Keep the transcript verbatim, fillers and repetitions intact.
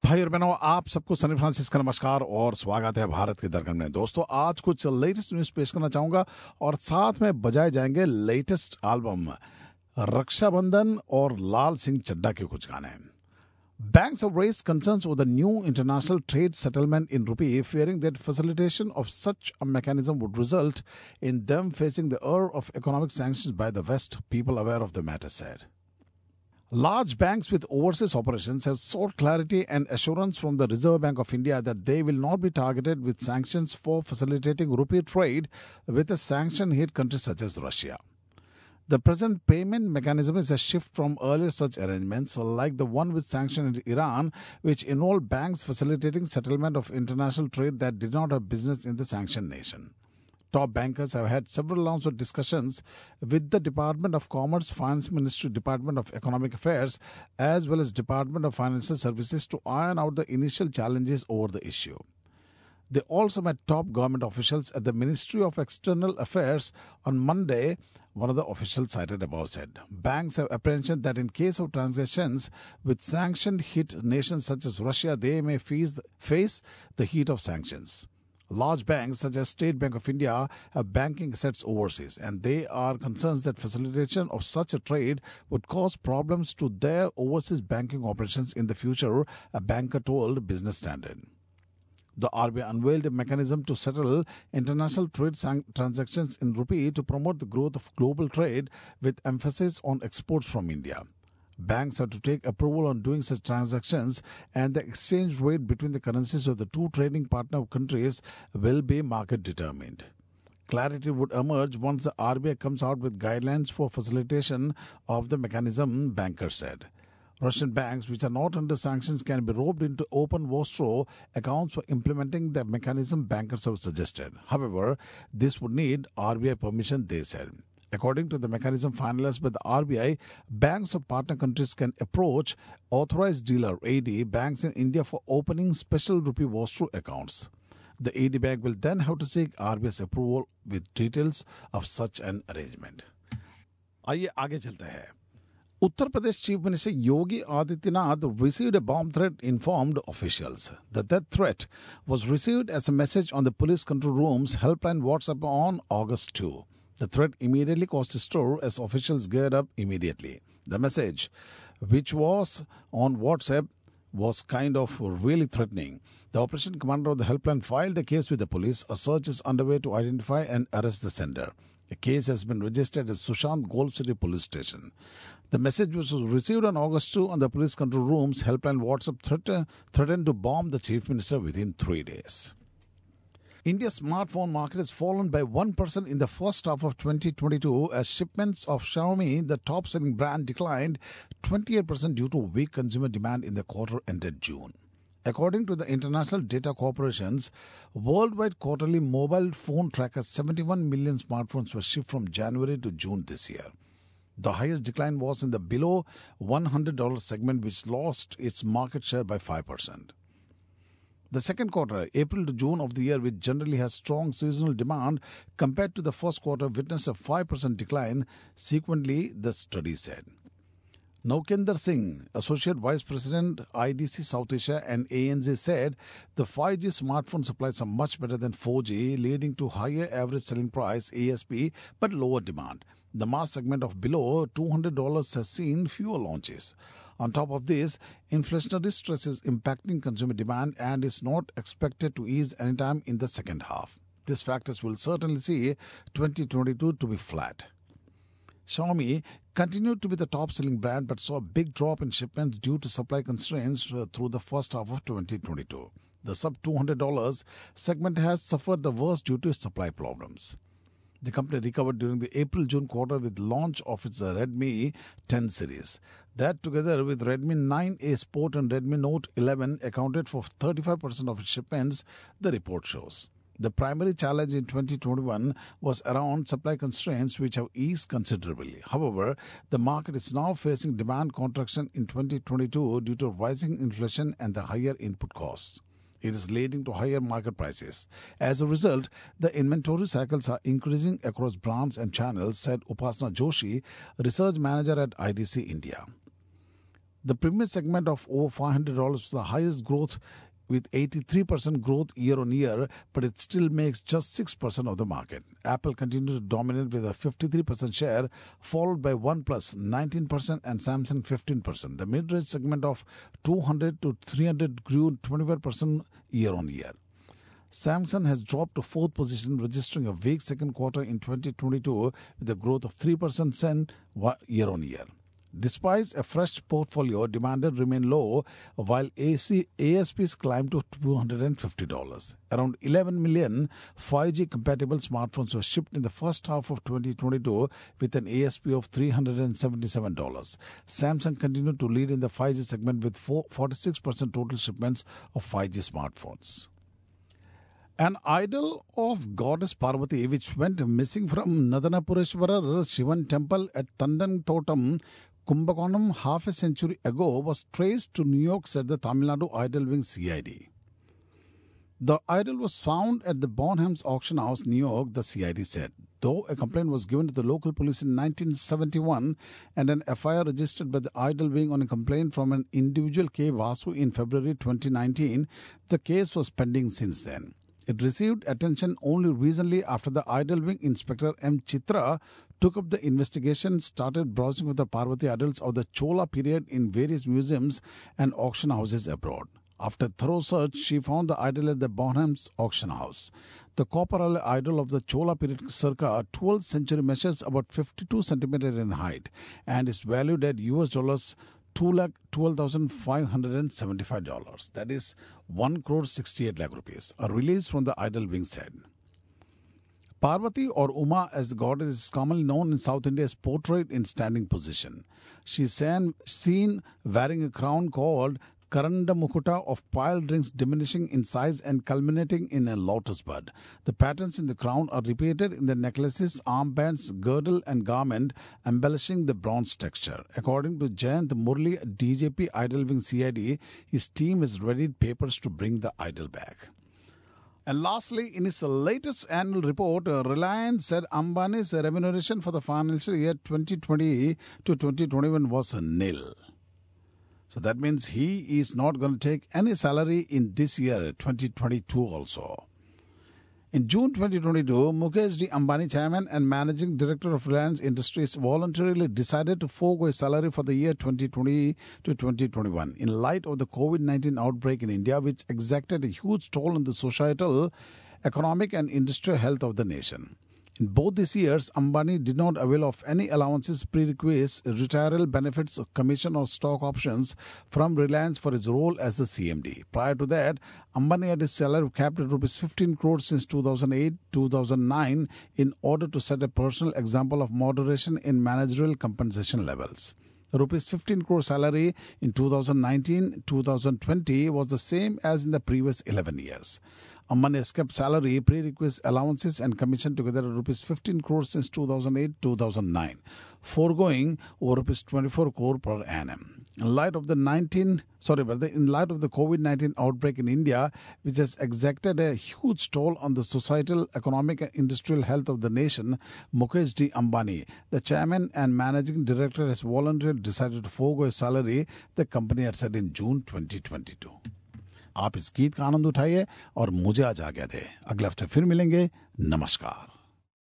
भाई और बहनों, आप सबको सनी फ्रांसिस का नमस्कार और स्वागत है भारत के दरगन में। दोस्तों, आज कुछ लेटेस्ट न्यूज पेश करना चाहूंगा और साथ में बजाए जाएंगे लेटेस्ट एल्बम रक्षाबंधन और लाल सिंह चड्ढा के कुछ गाने। Banks have raised concerns over the new international trade settlement in rupee, fearing that facilitation of such a mechanism would result in them facing the ire of economic sanctions by the West, people aware of the matter said. Large banks with overseas operations have sought clarity and assurance from the Reserve Bank of India that they will not be targeted with sanctions for facilitating rupee trade with a sanction-hit country such as Russia. The present payment mechanism is a shift from earlier such arrangements, like the one with sanctioned Iran, which involved banks facilitating settlement of international trade that did not have business in the sanctioned nation. Top bankers have had several rounds of discussions with the Department of Commerce, Finance Ministry, Department of Economic Affairs, as well as Department of Financial Services to iron out the initial challenges over the issue. They also met top government officials at the Ministry of External Affairs on Monday. One of the officials cited above said, banks have apprehension that in case of transactions with sanction-hit nations such as Russia, they may face, face the heat of sanctions. Large banks such as State Bank of India have banking assets overseas, and they are concerned that facilitation of such a trade would cause problems to their overseas banking operations in the future, a banker told Business Standard. The R B I unveiled a mechanism to settle international trade san- transactions in rupee to promote the growth of global trade with emphasis on exports from India. Banks have to take approval on doing such transactions, and the exchange rate between the currencies of the two trading partner countries will be market determined. Clarity would emerge once the R B I comes out with guidelines for facilitation of the mechanism, bankers said. Russian banks, which are not under sanctions, can be roped into open Vostro accounts for implementing the mechanism, bankers have suggested. However, this would need R B I permission, they said. According to the mechanism finalized by the R B I, banks of partner countries can approach authorized dealer A D banks in India for opening special rupee Vostro accounts. The A D bank will then have to seek R B I's approval with details of such an arrangement. आइए आगे चलते हैं. Uttar Pradesh Chief Minister Yogi Adityanath received a bomb threat, informed officials. The death threat was received as a message on the police control room's helpline WhatsApp on August second. The threat immediately caused a stir as officials geared up immediately. The message, which was on WhatsApp, was kind of really threatening. The operation commander of the helpline filed a case with the police. A search is underway to identify and arrest the sender. A case has been registered at Sushant Golf City Police Station. The message, which was received on August second on the police control room's helpline WhatsApp, threatened, threatened to bomb the chief minister within three days. India's smartphone market has fallen by one percent in the first half of twenty twenty-two as shipments of Xiaomi, the top-selling brand, declined twenty-eight percent due to weak consumer demand in the quarter ended June. According to the International Data Corporation's worldwide quarterly mobile phone tracker, seventy-one million smartphones were shipped from January to June this year. The highest decline was in the below one hundred dollars segment, which lost its market share by five percent. The second quarter, April to June of the year, which generally has strong seasonal demand compared to the first quarter, witnessed a five percent decline. Sequentially, the study said. Naukender Singh, Associate Vice President, I D C South Asia and A N Z, said the five G smartphone supplies are much better than four G, leading to higher average selling price, A S P, but lower demand. The mass segment of below two hundred dollars has seen fewer launches. On top of this, inflationary stress is impacting consumer demand and is not expected to ease anytime in the second half. These factors will certainly see twenty twenty-two to be flat. Xiaomi continued to be the top-selling brand but saw a big drop in shipments due to supply constraints through the first half of twenty twenty-two. The sub two hundred dollars segment has suffered the worst due to supply problems. The company recovered during the April-June quarter with the launch of its Redmi ten series. That, together with Redmi nine A Sport and Redmi Note eleven, accounted for thirty-five percent of its shipments, the report shows. The primary challenge in twenty twenty-one was around supply constraints, which have eased considerably. However, the market is now facing demand contraction in twenty twenty-two due to rising inflation and the higher input costs. It is leading to higher market prices. As a result, the inventory cycles are increasing across brands and channels, said Upasana Joshi, research manager at I D C India. The premium segment of over five hundred dollars was the highest growth with eighty-three percent growth year on year, but it still makes just six percent of the market. Apple continues to dominate with a fifty-three percent share, followed by OnePlus nineteen percent and Samsung fifteen percent. The mid-range segment of two hundred to three hundred grew twenty-five percent year on year. Samsung has dropped to fourth position, registering a weak second quarter in twenty twenty-two with a growth of three percent year on year. Despite a fresh portfolio, demand remained low, while A S Ps climbed to two hundred fifty dollars. Around eleven million five G compatible smartphones were shipped in the first half of twenty twenty-two with an A S P of three hundred seventy-seven dollars. Samsung continued to lead in the five G segment with forty-six percent total shipments of five G smartphones. An idol of goddess Parvati, which went missing from Nadanapureshwara Shivan temple at Tandan Kumbakonam half a century ago, was traced to New York, said the Tamil Nadu Idol Wing C I D. The idol was found at the Bonhams Auction House, New York, the C I D said. Though a complaint was given to the local police in nineteen seventy-one and an F I R registered by the Idol Wing on a complaint from an individual K. Vasu in February twenty nineteen, the case was pending since then. It received attention only recently after the Idol Wing Inspector M. Chitra took up the investigation, started browsing for the Parvati idols of the Chola period in various museums and auction houses abroad. After thorough search, she found the idol at the Bonhams Auction House. The copper idol of the Chola period circa twelfth century measures about fifty-two centimeters in height and is valued at U S dollars two lakh twelve thousand five hundred seventy-five dollars. That is one crore sixty-eight lakh rupees. A release from the Idol Wing said. Parvati, or Uma as the goddess is commonly known in South India, is portrayed in standing position. She is seen wearing a crown called Karanda Mukuta of piled rings diminishing in size and culminating in a lotus bud. The patterns in the crown are repeated in the necklaces, armbands, girdle and garment, embellishing the bronze texture. According to Jayant Murli, D J P Idol Wing C I D, his team has readied papers to bring the idol back. And lastly, in its latest annual report, Reliance said Ambani's remuneration for the financial year twenty twenty to twenty twenty-one was nil. So that means he is not going to take any salary in this year, twenty twenty-two also. In June twenty twenty-two, Mukesh D. Ambani, Chairman and Managing Director of Reliance Industries, voluntarily decided to forego his salary for the year twenty twenty to twenty twenty-one in light of the COVID nineteen outbreak in India, which exacted a huge toll on the societal, economic and industrial health of the nation. In both these years, Ambani did not avail of any allowances, prerequisites, retirement benefits, commission or stock options from Reliance for his role as the C M D. Prior to that, Ambani had his salary capped at rupees fifteen crores since two thousand eight to two thousand nine in order to set a personal example of moderation in managerial compensation levels. The rupees fifteen crore salary in two thousand nineteen to two thousand twenty was the same as in the previous eleven years. Ambani has kept salary, prerequisite allowances and commission together at rupees fifteen crores since two thousand eight to two thousand nine, foregoing over rupees twenty-four crore per annum. In light of the nineteen, sorry, but in light of the COVID nineteen outbreak in India, which has exacted a huge toll on the societal, economic and industrial health of the nation, Mukesh D. Ambani, the chairman and managing director, has voluntarily decided to forego his salary, the company had said in June twenty twenty-two. आप इस गीत का आनंद उठाइए और मुझे आज आज्ञा दें। अगले हफ्ते फिर मिलेंगे। नमस्कार।